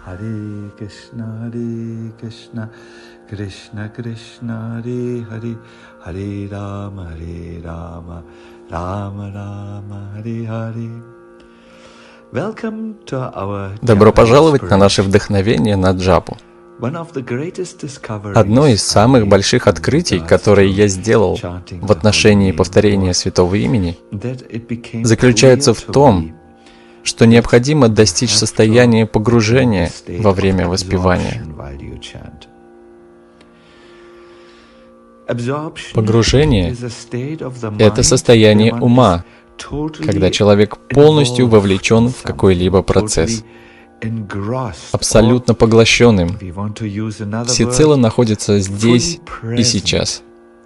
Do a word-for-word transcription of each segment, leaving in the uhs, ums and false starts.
Hare Krishna, Hare Krishna, Krishna Krishna, Hare Hare, Hare Rama, Hare Rama, Rama Rama, Hare Hare. Welcome to our Добро пожаловать на наше вдохновение на джапу. Одно из самых больших открытий, которые я сделал в отношении повторения святого имени, заключается в том, что необходимо достичь состояния погружения во время воспевания. Погружение — это состояние ума, когда человек полностью вовлечен в какой-либо процесс, абсолютно поглощенным, всецело находится здесь и сейчас.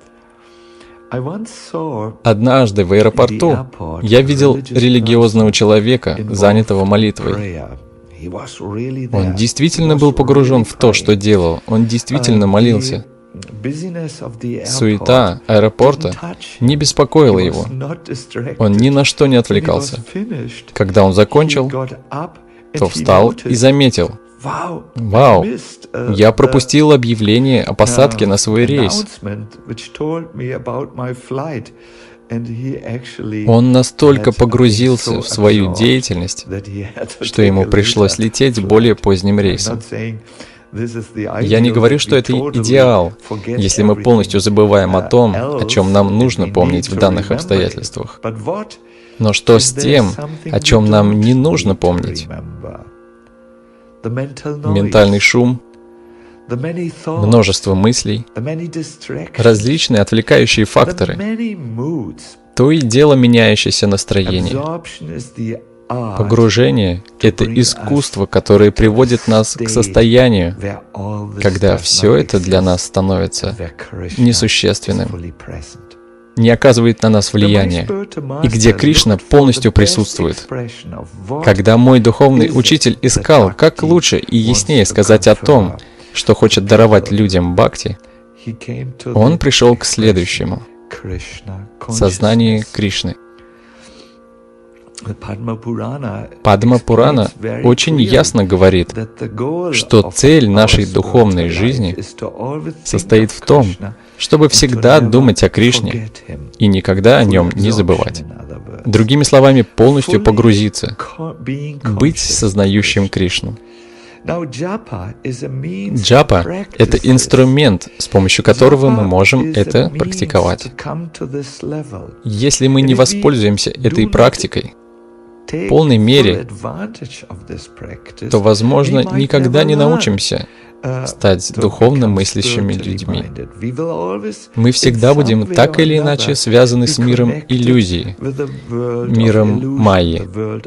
Однажды в аэропорту я видел религиозного человека, занятого молитвой. Он действительно был погружен в то, что делал. Он действительно молился. Суета аэропорта не беспокоила его. Он ни на что не отвлекался. Когда он закончил, то встал и заметил: «Вау, я пропустил объявление о посадке на свой рейс». Он настолько погрузился в свою деятельность, что ему пришлось лететь более поздним рейсом. Я не говорю, что это идеал, если мы полностью забываем о том, о чем нам нужно помнить в данных обстоятельствах. Но что с тем, о чем нам не нужно помнить? Ментальный шум, множество мыслей, различные отвлекающие факторы, то и дело меняющееся настроение. Погружение — это искусство, которое приводит нас к состоянию, когда все это для нас становится несущественным, не оказывает на нас влияния, и где Кришна полностью присутствует. Когда мой духовный учитель искал, как лучше и яснее сказать о том, что хочет даровать людям бхакти, он пришел к следующему — сознанию Кришны. Падма Пурана очень ясно говорит, что цель нашей духовной жизни состоит в том, чтобы всегда думать о Кришне и никогда о нем не забывать. Другими словами, полностью погрузиться, быть сознающим Кришну. Джапа — это инструмент, с помощью которого мы можем это практиковать. Если мы не воспользуемся этой практикой в полной мере, то, возможно, никогда не научимся стать духовно мыслящими людьми. Мы всегда будем так или иначе связаны с миром иллюзии, миром майи.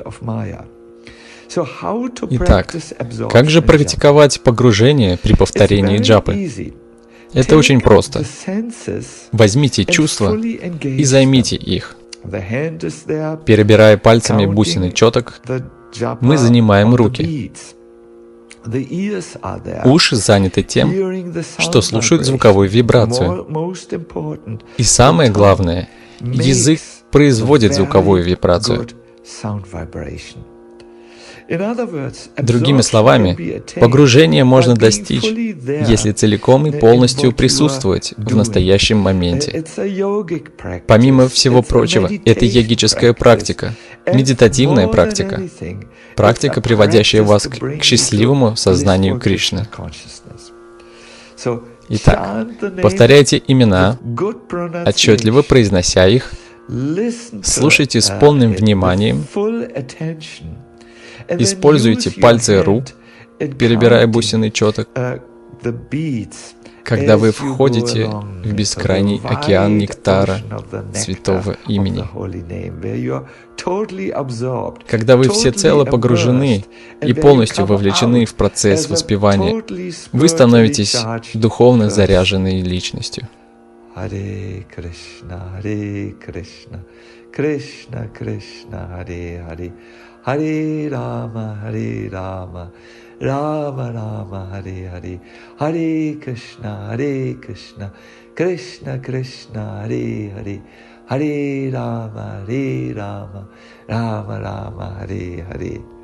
Итак, как же практиковать погружение при повторении джапы? Это очень просто. Возьмите чувства и займите их. Перебирая пальцами бусины четок, мы занимаем руки. Уши заняты тем, что слушают звуковую вибрацию. И самое главное, язык производит звуковую вибрацию. Другими словами, погружение можно достичь, если целиком и полностью присутствовать в настоящем моменте. Помимо всего прочего, это йогическая практика, медитативная практика, практика, приводящая вас к счастливому сознанию Кришны. Итак, повторяйте имена, отчетливо произнося их, слушайте с полным вниманием, используйте пальцы рук, перебирая бусины четок, когда вы входите в бескрайний океан нектара святого имени. Когда вы всецело погружены и полностью вовлечены в процесс воспевания, вы становитесь духовно заряженной личностью. Харе Кришна, Харе Кришна, Кришна Кришна, Харе Харе, Харе Рама, Харе Рама, Рама Рама, Харе Харе, Харе Кришна, Харе Кришна, Кришна Кришна, Харе Харе, Харе Рама, Харе Рама, Рама Рама, Харе Харе.